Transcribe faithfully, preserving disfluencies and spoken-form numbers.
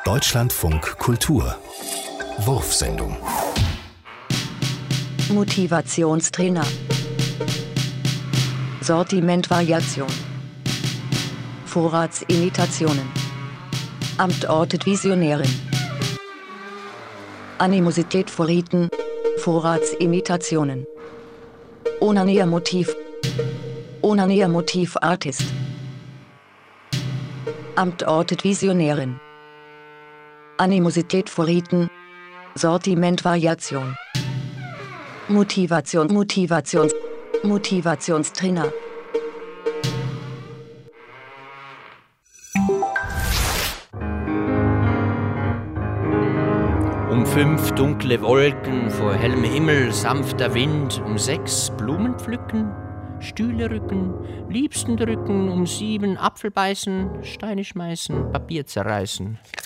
Deutschlandfunk Kultur Wurfsendung. Motivationstrainer. Sortimentvariation. Vorratsimitationen. Amt ortet Visionärin. Animosität vor Riten. Vorratsimitationen. Onaniermotiv. Onaniermotiv Artist. Amt ortet Visionärin. Animosität vor Riten. Sortimentvariation. Motivation, Motivations, Motivationstrainer. Um fünf dunkle Wolken vor hellem Himmel, sanfter Wind, um sechs Blumen pflücken, Stühle rücken, Liebsten drücken, um sieben Apfel beißen, Steine schmeißen, Papier zerreißen.